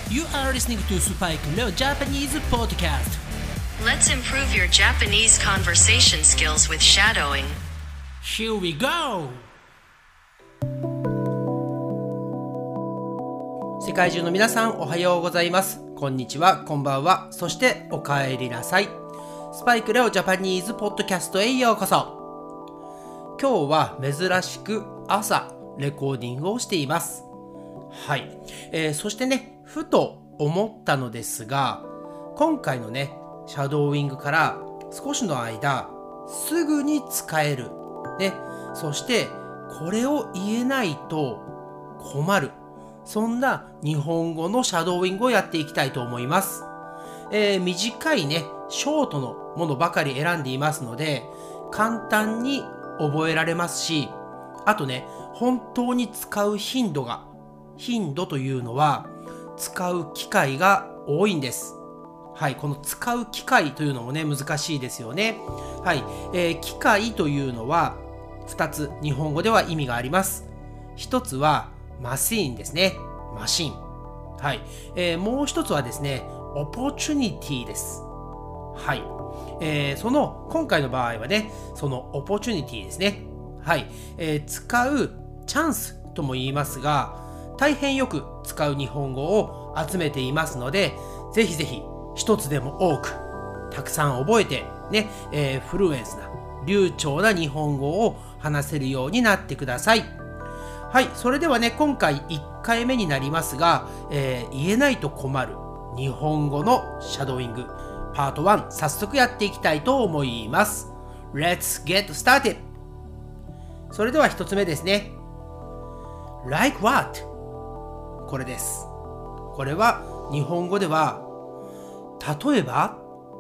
You are listening to Spike Leo Japanese Podcast. Let's improve your Japanese conversation skills with shadowing. Here we go! 世界中の皆さんおはようございます。こんにちは、こんばんは、そしてお帰りなさい。スパイクレオジャパニーズポッドキャストへようこそ。今日は珍しく朝レコーディングをしています。はい、そしてね、ふと思ったのですが、今回のね、シャドーイングから少しの間、すぐに使える。ね、そしてこれを言えないと困る。そんな日本語のシャドーイングをやっていきたいと思います。短いね、ショートのものばかり選んでいますので、簡単に覚えられますし、あとね、本当に使う頻度というのは、使う機会が多いんです。はい、この使う機会というのもね、難しいですよね。はい、機会というのは、2つ日本語では意味があります。1つは、マシーンですね。マシン。はい、もう1つはですね、オポチュニティです。はい、その今回の場合はね、そのオポチュニティですね。はい、使うチャンスとも言いますが、大変よく使う日本語を集めていますので、ぜひぜひ一つでも多くたくさん覚えてね、フルエンスな流暢な日本語を話せるようになってください。はい、それではね、今回1回目になりますが、言えないと困る日本語のシャドーイングパート1、早速やっていきたいと思います。 Let's get started。 それでは1つ目ですね。 Like what？ これです。これは日本語では例えば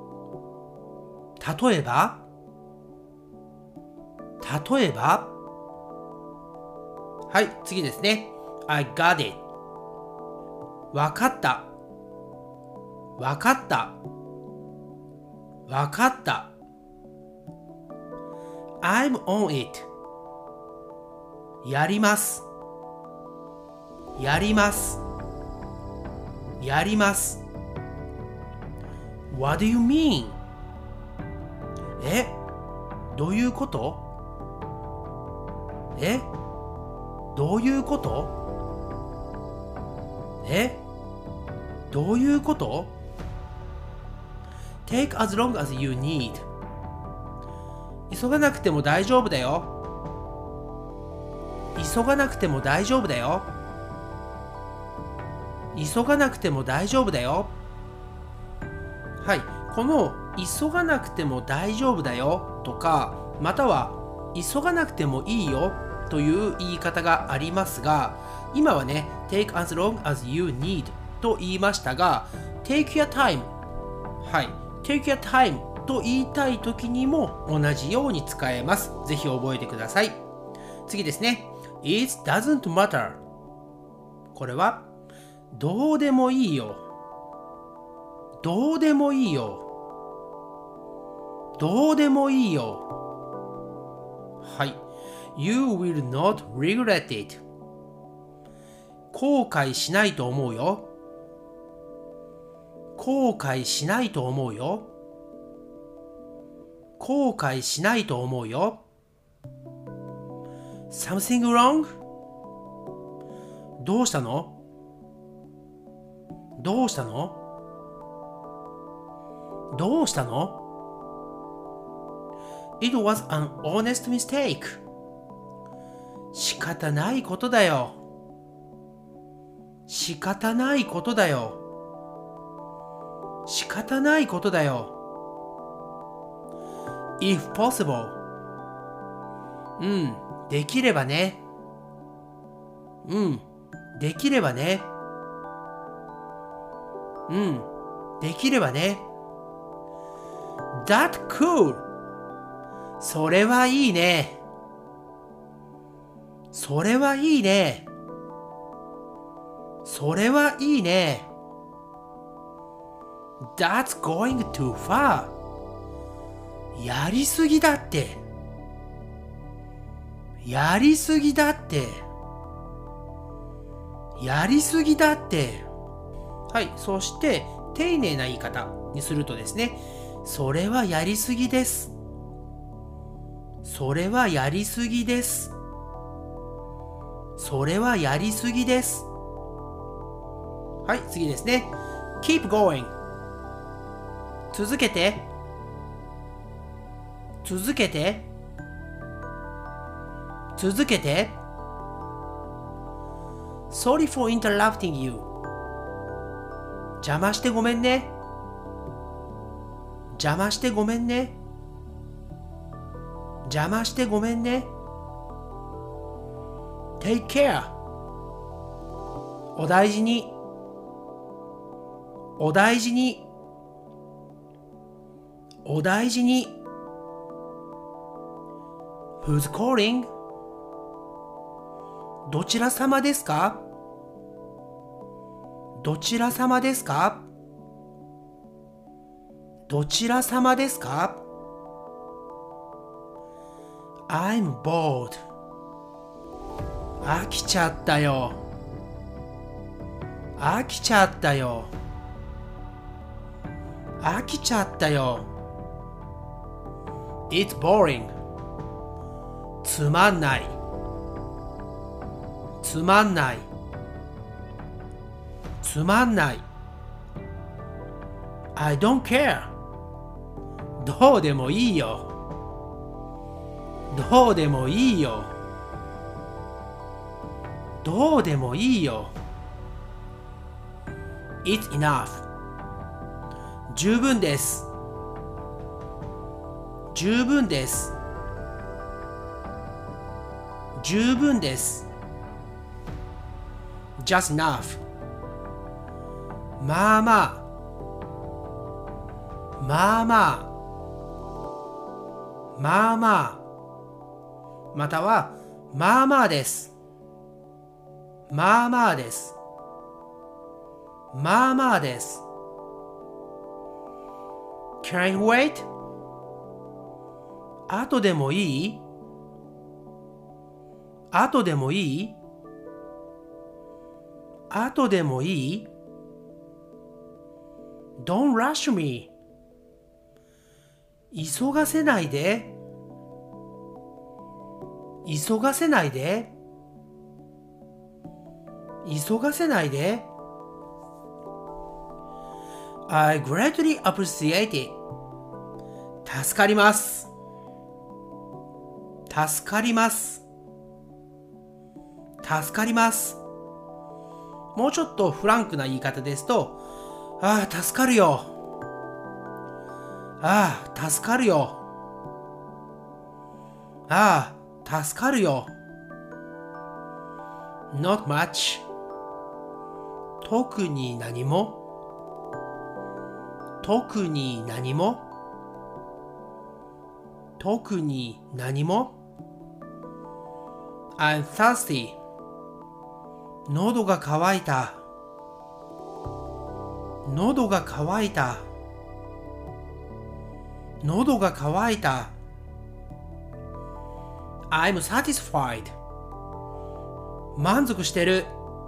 はい、次ですね。 I got it。 わかった。I'm on it。 やります。What do you mean？ どういうこと？どういうこと？ Take as long as you need。 急がなくても大丈夫だよ。はい、この急がなくても大丈夫だよとか、または急がなくてもいいよという言い方がありますが、今はね、take as long as you need と言いましたが、take your time、はい、take your time と言いたい時にも同じように使えます。ぜひ覚えてください。次ですね。It doesn't matter。 これはどうでもいいよ。はい。You will not regret it。 後悔しないと思うよ。Something wrong？ どうしたの？ It was an honest mistake。 仕方ないことだよ。If possible。 できればね。That cool。 それはいいね。That's going too far。 やりすぎだって。やりすぎだって。 はい、そして丁寧な言い方にするとですね、それはやりすぎです。それはやりすぎです。それはやりすぎです。はい、次ですね。keep going。続けて。続けて。続けて。Sorry for interrupting you。邪魔してごめんね。邪魔してごめんね。邪魔してごめんね。Take care。お大事に。お大事に。お大事に。Who's calling？ どちら様ですか？どちら様ですか？どちら様ですか？ I'm bored。 飽きちゃったよ。飽きちゃったよ。飽きちゃったよ。It's boring。 つまんない。つまんない。つまんない。I don't care。 どうでもいいよ。どうでもいいよ。どうでもいいよ。It's enough。 十分です。十分です。十分です。Just enough。 まあまあ。まあまあ。まあまあ。または、まあまあです。まあまあです。まあまあです。Can I wait？ 後でもいい？後でもいい？後でもいい？ Don't rush me。 急がせないで。急がせないで。急がせないで。I greatly appreciate it。 助かります。助かります。助かります。もうちょっとフランクな言い方ですと、ああ、助かるよ。ああ、助かるよ。ああ、助かるよ。Not much。 特に何も。特に何も。特に何も。I'm thirsty。 喉が渇いた。喉が渇いた。喉が渇いた。I'm satisfied。 満足してる。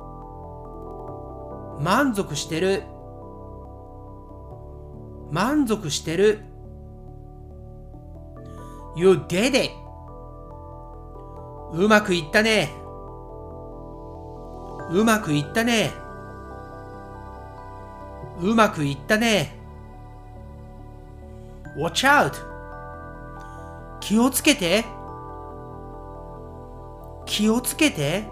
満足してる。満足してる。You did it。 うまくいったね。うまくいったね。うまくいったね。Watch out。 気をつけて。気をつけて。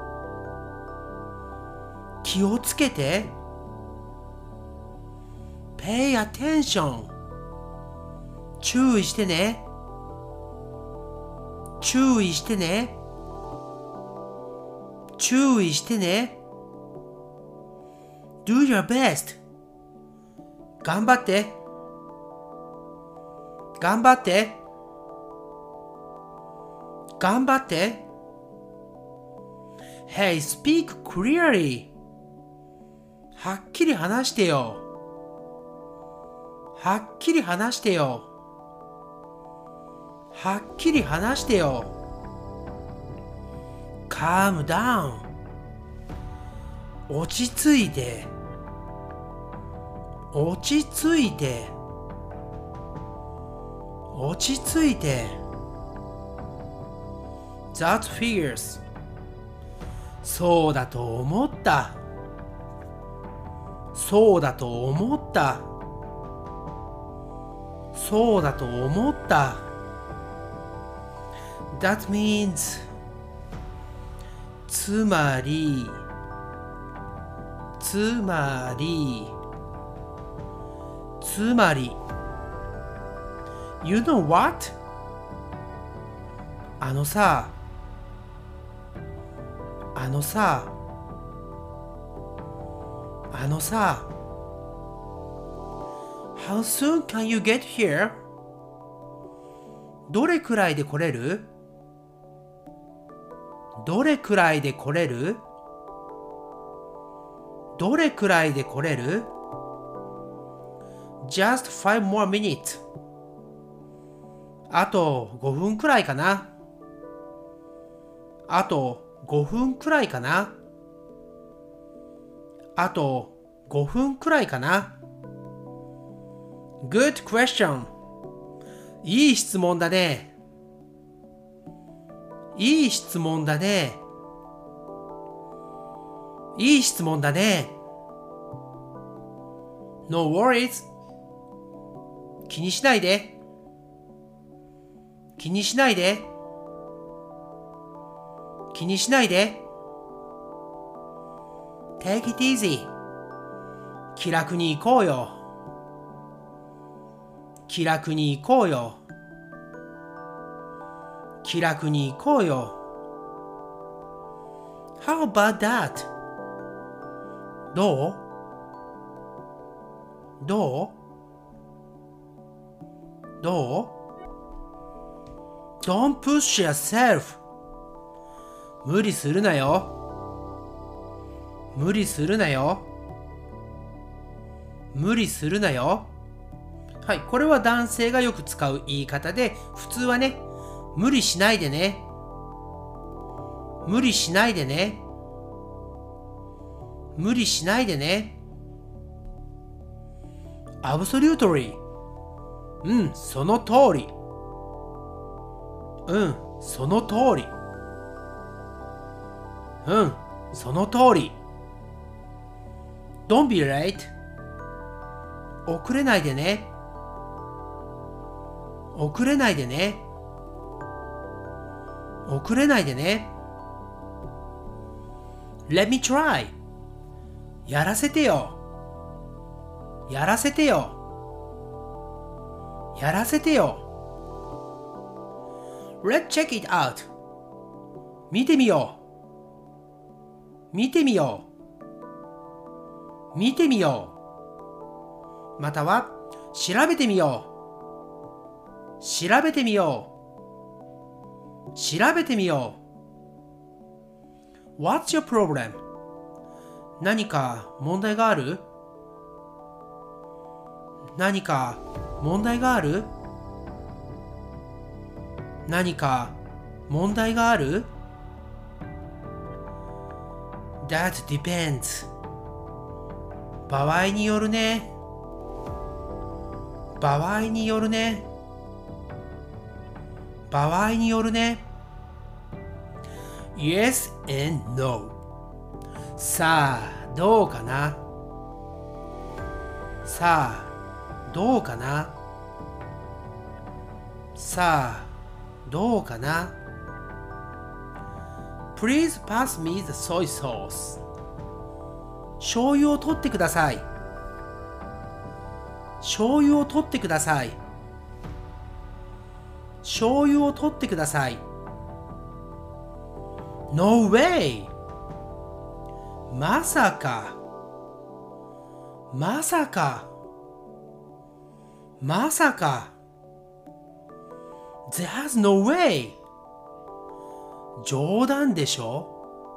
気をつけて。Pay attention。 注意してね。注意してね。注意してね。Do your best。 頑張って。頑張って。頑張って。Hey, speak clearly。 はっきり話してよ。はっきり話してよ。はっきり話してよ。Calm down。 落ち着いて。 落ち着いて落ち着いて That figures そうだと思ったそうだと思ったそうだと思った That means つまり You know what? あのさ How soon can you get here? どれくらいで来れる Just 5 more minutes あと5分くらいかな Good question いい質問だね No worries 気にしないで Take it easy 気楽に行こうよ How about that? どう Don't push yourself 無理するなよはい、これは男性がよく使う言い方で、普通はね、無理しないでね Absolutely その通り Don't be late 遅れないでね Let me try やらせてよ Let's check it out 見てみようまたは調べてみよう What's your problem? 何か問題があるThat depends 場合によるね Yes and no さあどうかな Please pass me the soy sauce 醤油を取ってください No way まさか There's no way 冗談でしょ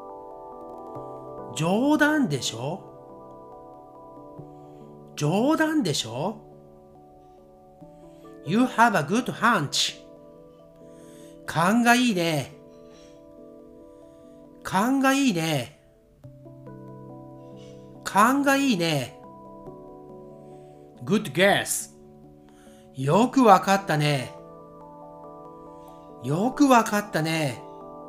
You have a good hunch 勘がいいね Good guess. よくわかったね。よくわかったね。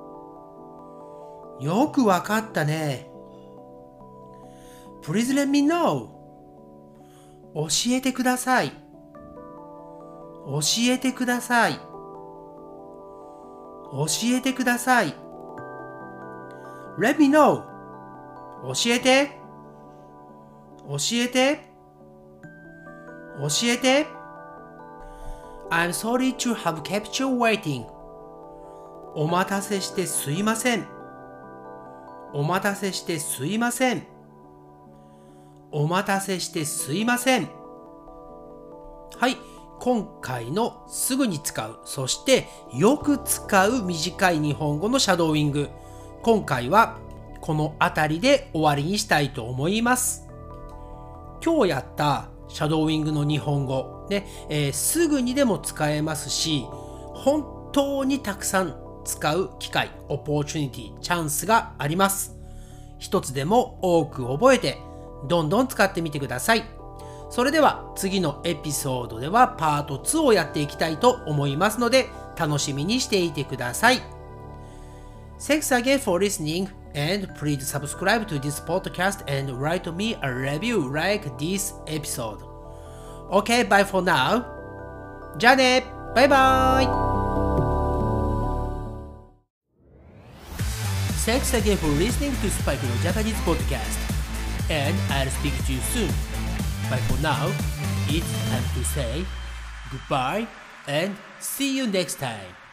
よくわかったね。Please let me know. 教えてください。教えてください。教えてください。Let me know. 教えて。教えて。教えて。I'm sorry to have kept you waiting. お待たせしてすいません。お待たせしてすいません。お待たせしてすいません。はい。今回のすぐに使う、そしてよく使う短い日本語のシャドーイング。今回はこのあたりで終わりにしたいと思います。今日やったシャドーイングの日本語、ねすぐにでも使えますし、本当にたくさん使う機会、オポーチュニティ、チャンスがあります。一つでも多く覚えて、どんどん使ってみてください。それでは次のエピソードではパート2をやっていきたいと思いますので、楽しみにしていてください。Thanks again for listening and please subscribe to this podcast and write me a review like this episode. Okay, bye for now. じゃあね、バイバイ。Thanks again for listening to Spikeの Japanese podcast, and I'll speak to you soon.But for now, it's time to say goodbye and see you next time.